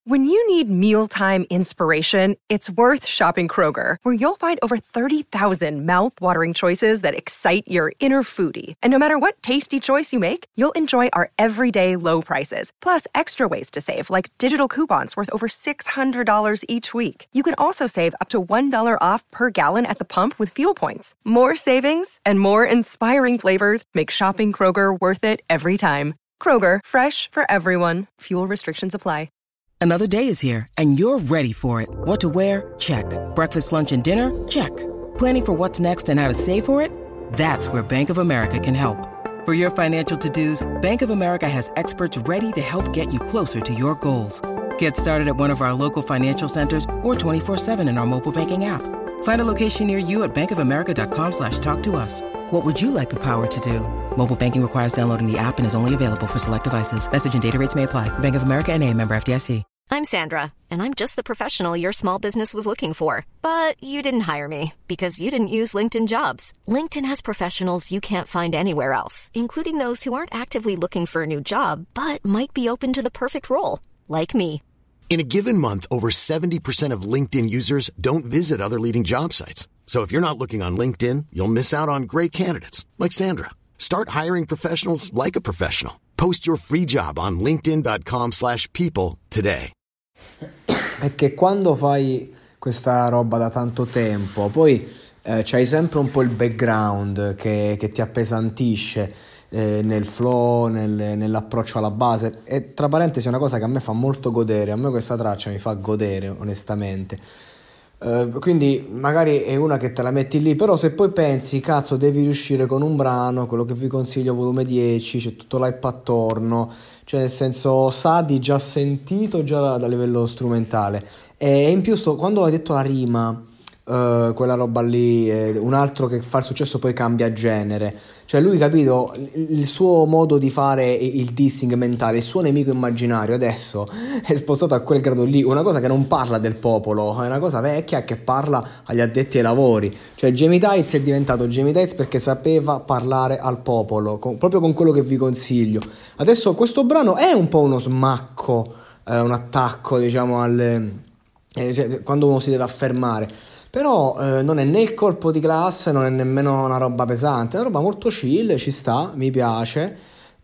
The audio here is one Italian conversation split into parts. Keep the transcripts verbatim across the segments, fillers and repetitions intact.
When you need mealtime inspiration, it's worth shopping Kroger, where you'll find over thirty thousand mouth-watering choices that excite your inner foodie. And no matter what tasty choice you make, you'll enjoy our everyday low prices, plus extra ways to save, like digital coupons worth over six hundred dollars each week. You can also save up to one dollar off per gallon at the pump with fuel points. More savings and more inspiring flavors make shopping Kroger worth it every time. Kroger, fresh for everyone. Fuel restrictions apply. Another day is here, and you're ready for it. What to wear? Check. Breakfast, lunch, and dinner? Check. Planning for what's next and how to save for it? That's where Bank of America can help. For your financial to-dos, Bank of America has experts ready to help get you closer to your goals. Get started at one of our local financial centers or twenty-four seven in our mobile banking app. Find a location near you at bankofamerica.com slash talk to us. What would you like the power to do? Mobile banking requires downloading the app and is only available for select devices. Message and data rates may apply. Bank of America N A, member F D I C. I'm Sandra, and I'm just the professional your small business was looking for. But you didn't hire me because you didn't use LinkedIn Jobs. LinkedIn has professionals you can't find anywhere else, including those who aren't actively looking for a new job, but might be open to the perfect role, like me. In a given month, over seventy percent of LinkedIn users don't visit other leading job sites. So if you're not looking on LinkedIn, you'll miss out on great candidates, like Sandra. Start hiring professionals like a professional. Post your free job on linkedin.com slash people today. È che quando fai questa roba da tanto tempo, poi eh, c'hai sempre un po' il background che, che ti appesantisce eh, nel flow, nel, nell'approccio alla base. E tra parentesi è una cosa che a me fa molto godere, a me questa traccia mi fa godere onestamente. Uh, quindi magari è una che te la metti lì, però se poi pensi cazzo devi riuscire con un brano, quello che vi consiglio volume dieci, c'è tutto l'hype attorno, cioè nel senso Sadi già sentito già da, da livello strumentale, e in più sto, quando hai detto la rima uh, quella roba lì, eh, un altro che fa il successo poi cambia genere, cioè lui capito il, il suo modo di fare il dissing mentale, il suo nemico immaginario adesso è spostato a quel grado lì, una cosa che non parla del popolo, è una cosa vecchia che parla agli addetti ai lavori, cioè Jamie Tights è diventato Jamie Tights perché sapeva parlare al popolo, con, proprio con quello che vi consiglio. Adesso questo brano è un po' uno smacco, eh, un attacco diciamo al eh, cioè, quando uno si deve affermare, però eh, non è né il colpo di classe, non è nemmeno una roba pesante, è una roba molto chill, ci sta, mi piace,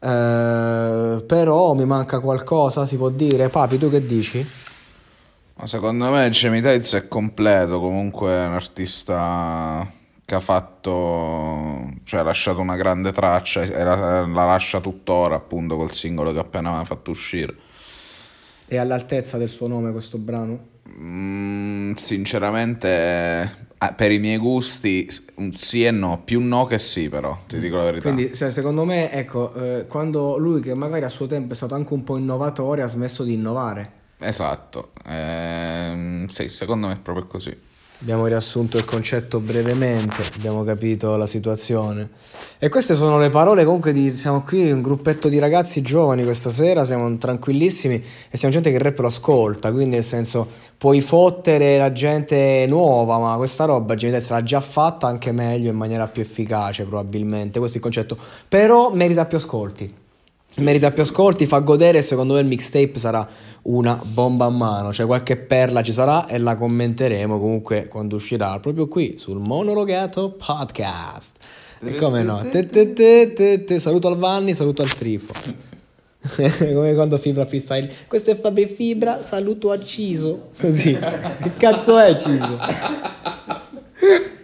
eh, però mi manca qualcosa, si può dire. Papi, tu che dici? Ma secondo me Jamie Tights è completo, comunque è un artista che ha fatto, cioè ha lasciato una grande traccia e la, la lascia tuttora appunto col singolo che appena aveva fatto uscire. È all'altezza del suo nome questo brano? Mm, sinceramente eh, per i miei gusti un sì e no, più no che sì, però ti dico la verità. Quindi se, secondo me ecco eh, quando lui che magari a suo tempo è stato anche un po' innovatore ha smesso di innovare. Esatto, ehm, sì, secondo me è proprio così. Abbiamo riassunto il concetto brevemente, abbiamo capito la situazione. E queste sono le parole comunque di... Siamo qui un gruppetto di ragazzi giovani questa sera, siamo tranquillissimi e siamo gente che il rap lo ascolta, quindi nel senso puoi fottere la gente nuova, ma questa roba gente l'ha già fatta anche meglio, in maniera più efficace probabilmente, questo è il concetto. Però merita più ascolti, merita più ascolti, fa godere e secondo me il mixtape sarà una bomba a mano, cioè qualche perla ci sarà e la commenteremo comunque quando uscirà proprio qui sul Monologato Podcast. E come no, te, te, te, te, te. Saluto al Vanni, saluto al Trifo. Come quando Fibra freestyle, questo è Fabri Fibra, saluto a Ciso, così. Che cazzo è Ciso?